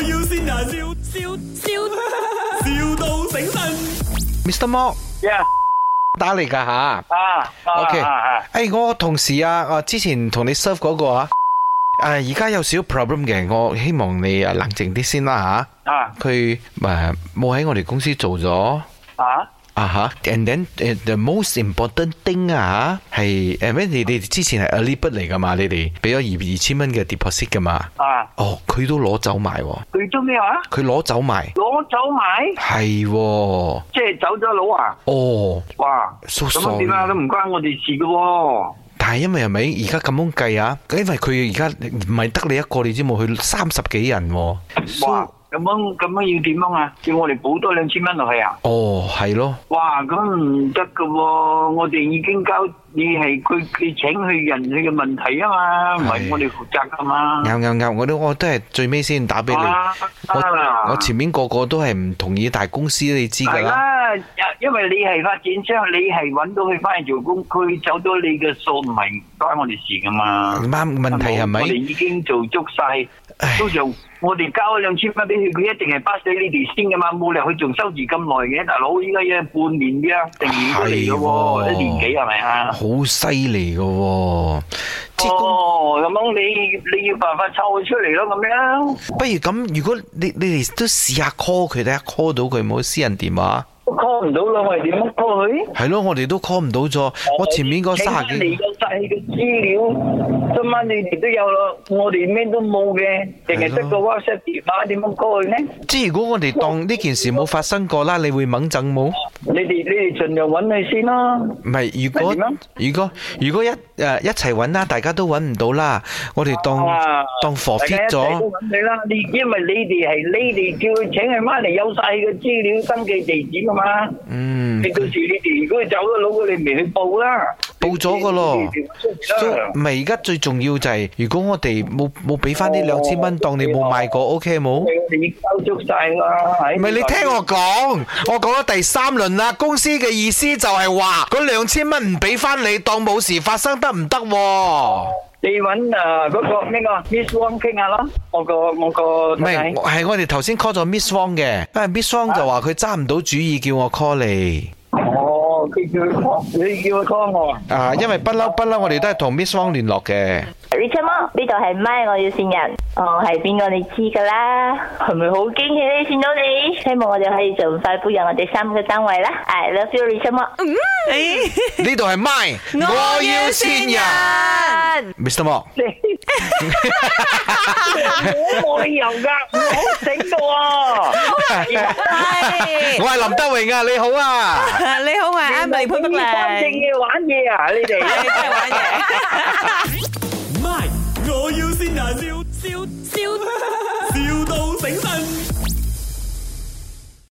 要先人，笑到醒神。 Mr. Mo Yeah. 打嚟噶吓 OK 我同事啊，之前同你 serve 嗰個啊，而家有少少 problem 嘅，我希望你冷靜啲先啦吓。佢冇喺我哋公司做咗。And then the most important thing 係咩？你哋之前係 early bird 嚟噶嘛？你哋俾咗2,000蚊嘅 deposit 噶嘛？佢都攞走埋。 佢做咩話？ 佢攞走埋。 攞走埋？ 係， 即係走咗佬啊？哇！咁點啊？都唔關我哋事噶。 但係因為係咪而家咁樣計啊？因為佢而家唔係得你一個，你知冇？佢30幾人。哇！ 咁樣要點樣啊？叫我哋補多2,000蚊落去啊？ 係咯。哇！ 咁唔得噶喎！我哋已經交，你係佢請去人去嘅問題啊嘛，唔係我哋負責噶嘛。 啱，我都係最尾先打俾你。我前面個個都係唔同意大公司，你知噶啦。係啦，因為你係發展商，你係揾到佢翻嚟做工，佢走咗你嘅數，唔係關我哋事噶嘛。 啱，問題係咪？ 我哋已經做足晒，通常我哋交2,000蚊俾佢，佢一定係巴死你哋先噶嘛，冇理由佢仲收住咁耐嘅，大佬依家要半年嘅，定年都嚟咯喎，1年幾係咪啊？ 好犀利噶喎！ 咁樣你要辦法湊佢出嚟咯，咁樣。 不如咁，如果你哋都試下 call 佢，睇下 call 到佢冇私人電話。 call 唔到咯，我哋點樣 call 佢？ 係咯，我哋都 call 唔到咗。我前面嗰30幾。你有晒嘅資料，今晚你哋都有咯，我哋咩都冇嘅，淨係得個 WhatsApp 電話，點樣 call 佢呢？即係如果我哋當呢件事冇發生過啦，你會猛整冇？ 你哋盡量揾佢先啦。 唔係，如果一齊揾啦，大家都揾唔到啦，我哋當 forfeit 咗。大家一齊都揾你啦，因為你哋叫佢請佢翻嚟，有晒嘅資料、登記地址啊嘛。你到時你哋如果走咗佬，你咪去報啦。報咗噶咯。唔係，而家最重要就係，如果我哋冇俾翻呢2,000蚊，當你冇賣過 ，OK 冇？你交足晒啦。唔係，你聽我講咗第3輪啦。公司嘅意思就係話，嗰2,000蚊唔俾翻你，當冇事發生得唔得？你揾嗰個咩個 Miss Wong 傾下咯，我個唔係，係我哋頭先 call 咗 Miss Wong 嘅，因為 Miss Wong 就話佢揸唔到主意，叫我 call 你。佢叫佢 call 我。因為不嬲，我哋都係同 Miss Wong 聯絡嘅。 Richard Mo，呢度係咪我要線人？係邊個你知噶啦？係咪好驚喜呢？見到你，希望我哋可以盡快步入我哋3個單位啦。I love you, Richard Mo。 呢度係咪我要線人 ？Mr. Mo。我冇理由噶，我好醒到啊！我係林德榮啊，你好啊！ 你好啊，Emily 潘碧玲。 真正嘅玩嘢啊，你哋真係玩嘢。 我要先人，笑到醒神。